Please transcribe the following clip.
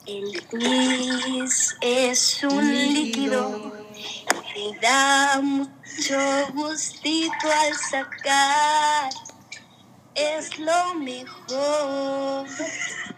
El tris es un líquido que da mucho gustito al sacar. Es lo mejor